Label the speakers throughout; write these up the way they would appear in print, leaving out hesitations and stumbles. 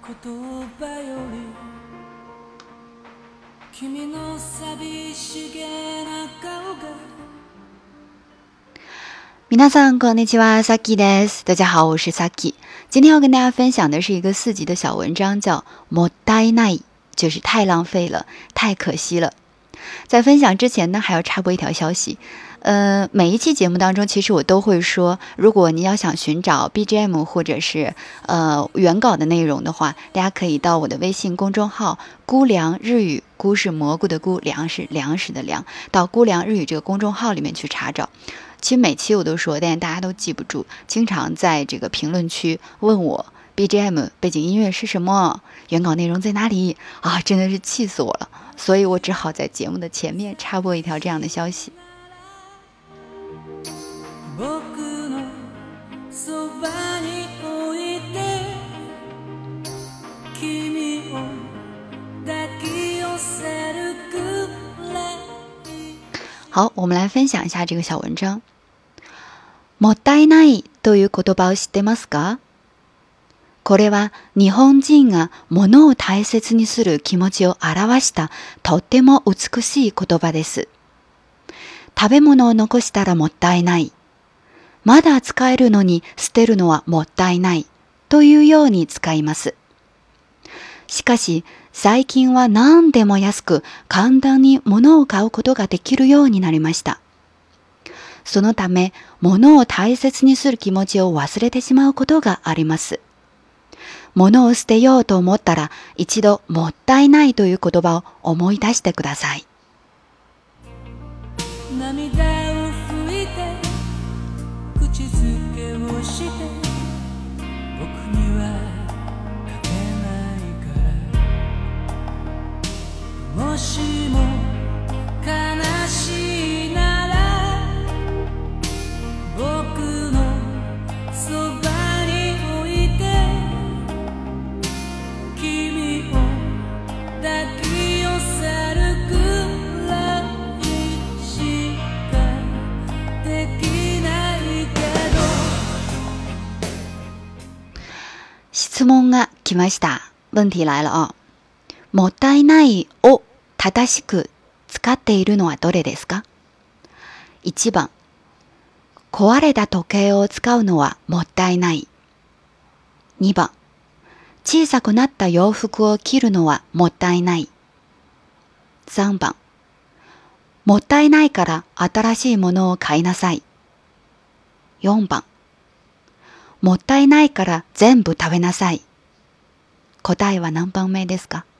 Speaker 1: 言葉より君の寂しげな顔が。
Speaker 2: 皆さんこんにちは，Sakiです。大家好，我是 Saki。今天要跟大家分享的是一个4集的小文章，叫もったいない，就是太浪费了，太可惜了。在分享之前呢，还要插播一条消息。每一期节目当中，其实我都会说，如果你要想寻找 BGM 或者是原稿的内容的话，大家可以到我的微信公众号“姑凉日语”，姑是蘑菇的菇，粮是粮食的粮，到姑凉日语这个公众号里面去查找。其实每期我都说，但是大家都记不住，经常在这个评论区问我 BGM 背景音乐是什么，原稿内容在哪里啊，真的是气死我了。所以我只好在节目的前面插播一条这样的消息。好，我们来分享一下这个小文章。もったいないという言葉を知ってますか？これは日本人が物を大切にする気持ちを表したとっても美しい言葉です。食べ物を残したらもったいない。まだ使えるのに捨てるのはもったいないというように使います。しかし最近は何でも安く簡単に物を買うことができるようになりました。そのため物を大切にする気持ちを忘れてしまうことがあります。物を捨てようと思ったら一度もったいないという言葉を思い出してください。
Speaker 1: 涙を拭いて口づけをして僕には書けないから、もしも悲しいなら僕のそばに置いて君を抱き寄せるくらいしかできないけど。
Speaker 2: 質問が来ました。問題来了啊。もったいないを正しく使っているのはどれですか？ 1 番、壊れた時計を使うのはもったいない。2番、小さくなった洋服を着るのはもったいない。3番、もったいないから新しいものを買いなさい。4番、もったいないから全部食べなさい。答えは何番目ですか？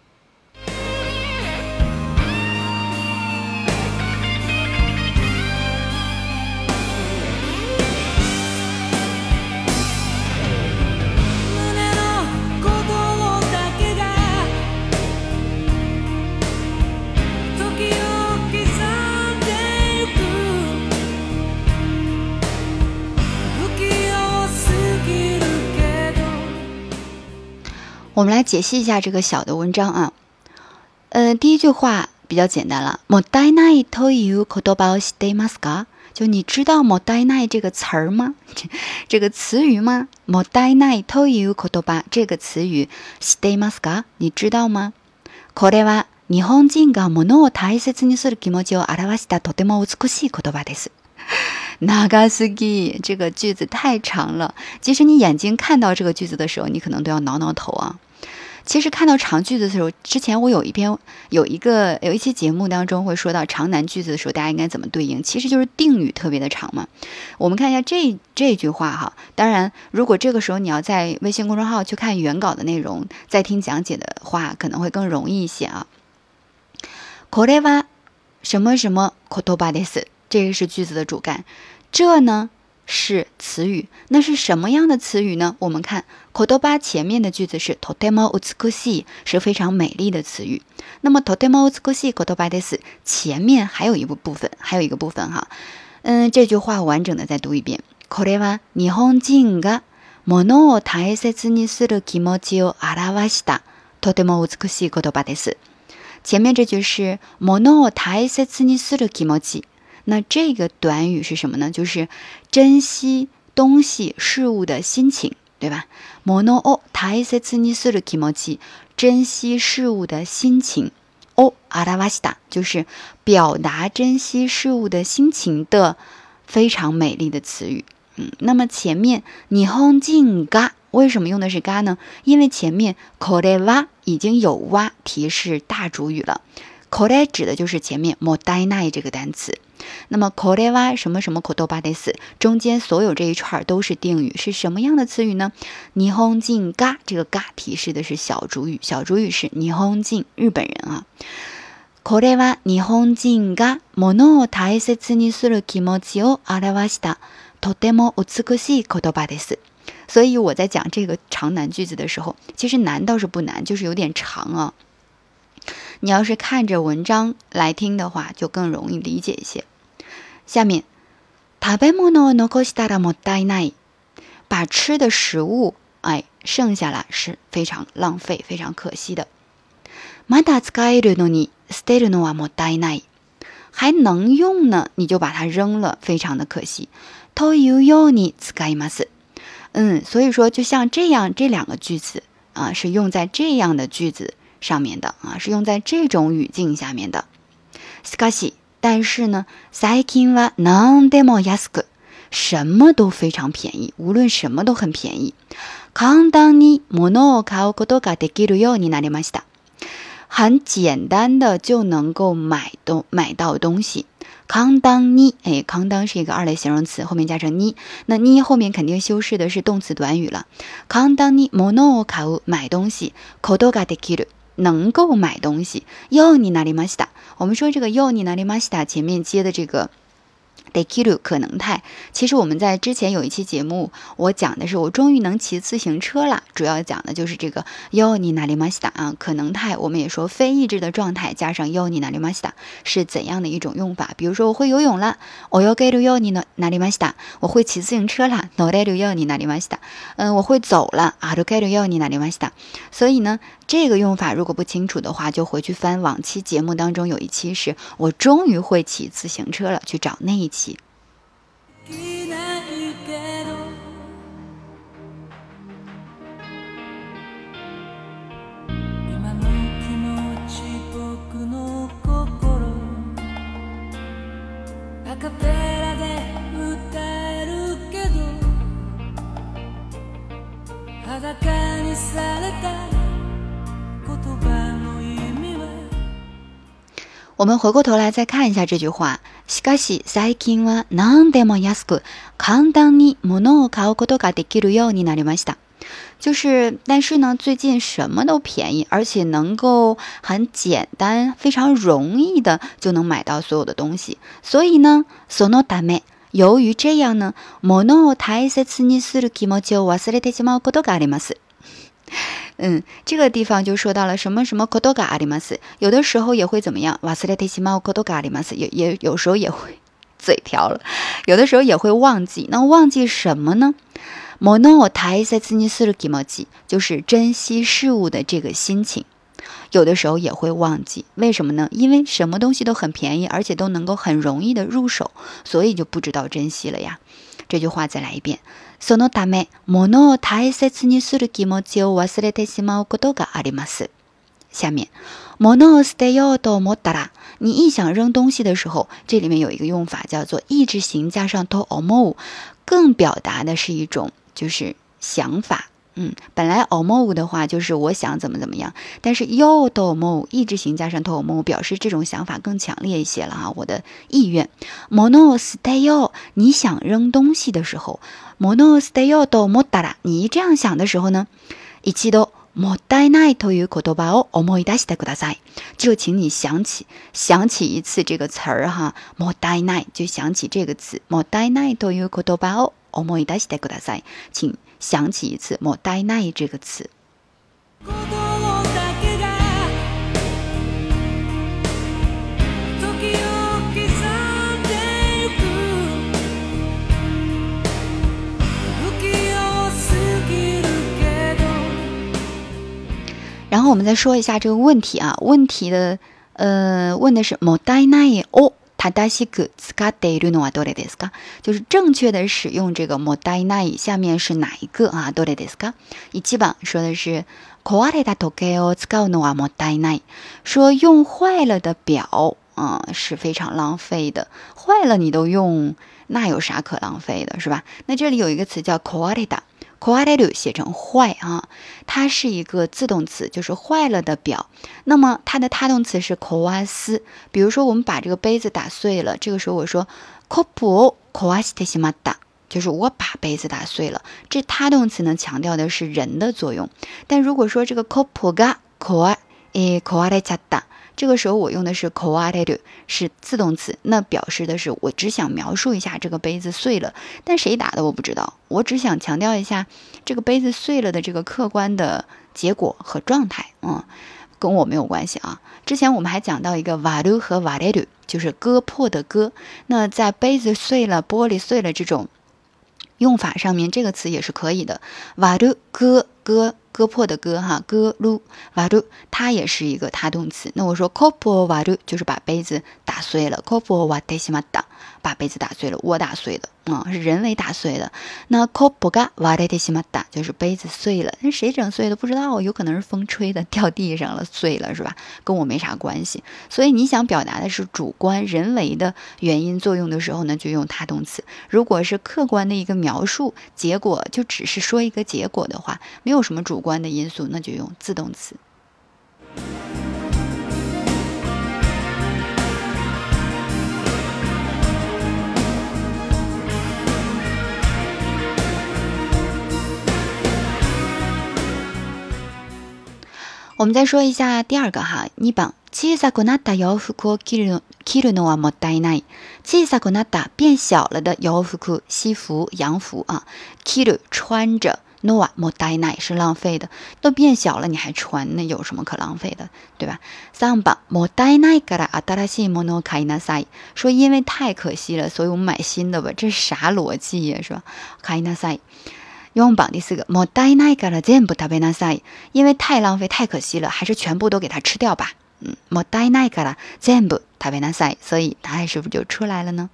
Speaker 2: 我们来解析一下这个小的文章啊。第一句话比较简单了。もったいないという言葉を知っていますか？就你知道もったいない这个词儿吗？这个词语吗？もったいないという言葉这个词语知っていますか？你知道吗？これは日本人が物を大切にする気持ちを表したとても美しい言葉です。長すぎ，这个句子太长了。即使你眼睛看到这个句子的时候，你可能都要挠挠头啊。其实看到长句子的时候，之前我有一期节目当中会说到长难句子的时候，大家应该怎么对应？其实就是定语特别的长嘛。我们看一下这句话哈。当然，如果这个时候你要在微信公众号去看原稿的内容，再听讲解的话，可能会更容易一些啊。これは什么什么言葉です。这个是句子的主干，这呢是词语。那是什么样的词语呢？我们看言葉前面的句子是とても美しい，是非常美丽的词语。那么とても美しい言葉です前面还有一个部分哈。这句话完整的再读一遍。これは日本人が物を大切にする気持ちを表したとても美しい言葉です。前面这句是物を大切にする気持ち。那这个短语是什么呢？就是珍惜东西事物的心情， 对吧？物を大切にする気持ち，珍惜事物的心情。を表した就是表达珍惜事物的心情的非常美丽的词语。那么前面日本人が为什么用的是が呢？因为前面これは已经有哇提示大主语了。これ指的就是前面もったいない这个单词。那么これは什么什么言葉です，中间所有这一串都是定语，是什么样的词语呢？日本人が这个が提示的是小主语，小主语是日本人日本人啊。これは日本人が物を大切にする気持ちを表したとても美しい言葉です。所以我在讲这个长难句子的时候，其实难倒是不难，就是有点长啊。你要是看着文章来听的话，就更容易理解一些。下面食べ物を残したらもったいない，把吃的食物剩下了是非常浪费非常可惜的。まだ使えるのに捨てるのはもったいない，还能用呢你就把它扔了，非常的可惜。というように使います。所以说就像这样这两个句子是用在这样的句子上面的是用在这种语境下面的。しかし但是呢最近は何でも安く，什么都非常便宜，无论什么都很便宜。簡単に物を買うことができるようになりました。很简单的就能够买到东西。簡単に簡単是一个二类形容词，后面加成に，那に后面肯定修饰的是动词短语了。簡単に物を買う买东西，ことができる能够买东西，ようになりました。我们说这个ようになりました前面接的这个できる可能态，其实我们在之前有一期节目我讲的是我终于能骑自行车了，主要讲的就是这个ようになりました可能态。我们也说非意志的状态加上ようになりました是怎样的一种用法。比如说我会游泳了，泳げるようになりました。我会骑自行车了，乗れるようになりました。我会走了，歩けるようになりました。所以呢这个用法如果不清楚的话，就回去翻往期节目当中有一期是我终于会骑自行车了，去找那一期。我们回过头来再看一下这句话。しかし最近は何でも安く簡単に物を買うことができるようになりました。就是但是呢最近什么都便宜，而且能够很简单非常容易的就能买到所有的东西。所以呢そのため由于这样呢物を大切にする気持ちを忘れてしまうことがあります。这个地方就说到了什么什么ことがあります，有的時候也会怎么样，忘れてしまうことがあります，也有时候也会嘴瓢了，有的时候也会忘记。那忘记什么呢？物を大切にする気持ち就是珍惜事物的这个心情，有的时候也会忘记。为什么呢？因为什么东西都很便宜，而且都能够很容易的入手，所以就不知道珍惜了呀。这句话再来一遍。そのため物を大切にする気持ちを忘れてしまうことがあります。下面物を捨てようと思ったら，你一想扔东西的时候，这里面有一个用法叫做意志型加上と思う，更表达的是一种就是想法。本来思う的话就是我想怎么怎么样，但是よと思う意志型加上と思う表示这种想法更强烈一些了我的意愿。物を捨てよう，你想扔东西的时候，物を捨てようと思ったら，你这样想的时候呢，一度もったいないという言葉を思い出してください。就请你想起一次这个词儿もったいない就想起这个词，もったいないという言葉を思い出してください，请想起一次もったいない这个词。然后我们再说一下这个问题问题的问的是もったいないを正しく使っているのはどれですか？就是正确的使用这个もったいない，下面是哪一个啊？どれですか？1番说的是壊れた時計を使うのはもったいない，说用坏了的表是非常浪费的，坏了你都用，那有啥可浪费的，是吧？那这里有一个词叫壊れた。壊れる写成坏啊，它是一个自动词，就是坏了的表。那么它的他动词是壊す。比如说我们把这个杯子打碎了，这个时候我说コップを壊してしまった，就是我把杯子打碎了。这他动词呢强调的是人的作用。但如果说这个コップが壊れちゃった。这个时候我用的是壊れる，是自动词，那表示的是我只想描述一下这个杯子碎了，但谁打的我不知道，我只想强调一下这个杯子碎了的这个客观的结果和状态，跟我没有关系啊。之前我们还讲到一个割る和割れる，就是割破的割，那在杯子碎了、玻璃碎了这种用法上面，这个词也是可以的。割る割破的割哈，割る割る，它也是一个他动词。那我说コップを割る就是把杯子打碎了，コップを割ってしまった，把杯子打碎了，我打碎的是人为打碎的。那コップが割れてしまった就是杯子碎了，那谁整碎的不知道，有可能是风吹的，掉地上了碎了，是吧？跟我没啥关系。所以你想表达的是主观人为的原因作用的时候呢，就用他动词。如果是客观的一个描述结果，就只是说一个结果的话，没有什么主观的因素，那就用自动词。我们再说一下第二个哈，2番小さくなった洋服を着るのはもったいない。小さくなった变小了的洋服，西服、洋服啊，着る穿着。のはもったいない是浪费的，都变小了你还穿，那有什么可浪费的，对吧？3番もったいないから新しいものを買いなさい，说因为太可惜了，所以我们买新的吧，这是啥逻辑呀，是吧？買いなさい。4番第4个もったいないから全部食べなさい，因为太浪费太可惜了，还是全部都给它吃掉吧。もったいないから全部食べなさい，所以答案是不是就出来了呢？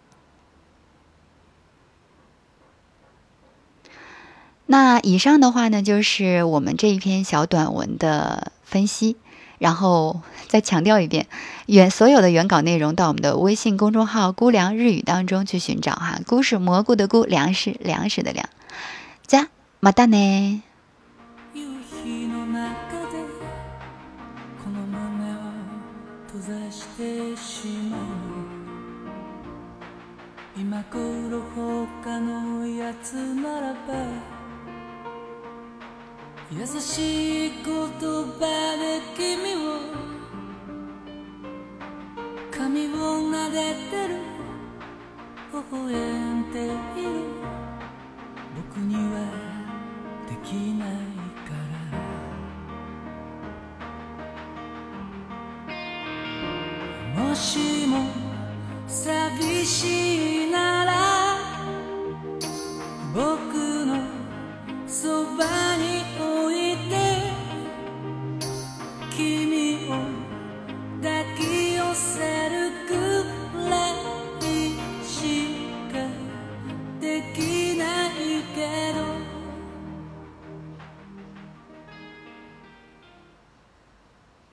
Speaker 2: 那以上的话呢，就是我们这一篇小短文的分析，然后再强调一遍，所有的原稿内容到我们的微信公众号“菇凉日语”当中去寻找哈。菇是蘑菇的菇，粮是粮食的粮。じゃ、またね。
Speaker 1: 夕日の中でこの胸を閉ざしてしまう。今頃他のやつならば優しい言葉で君を髪を撫でてる微笑んでいる僕にはできないからもしも寂しい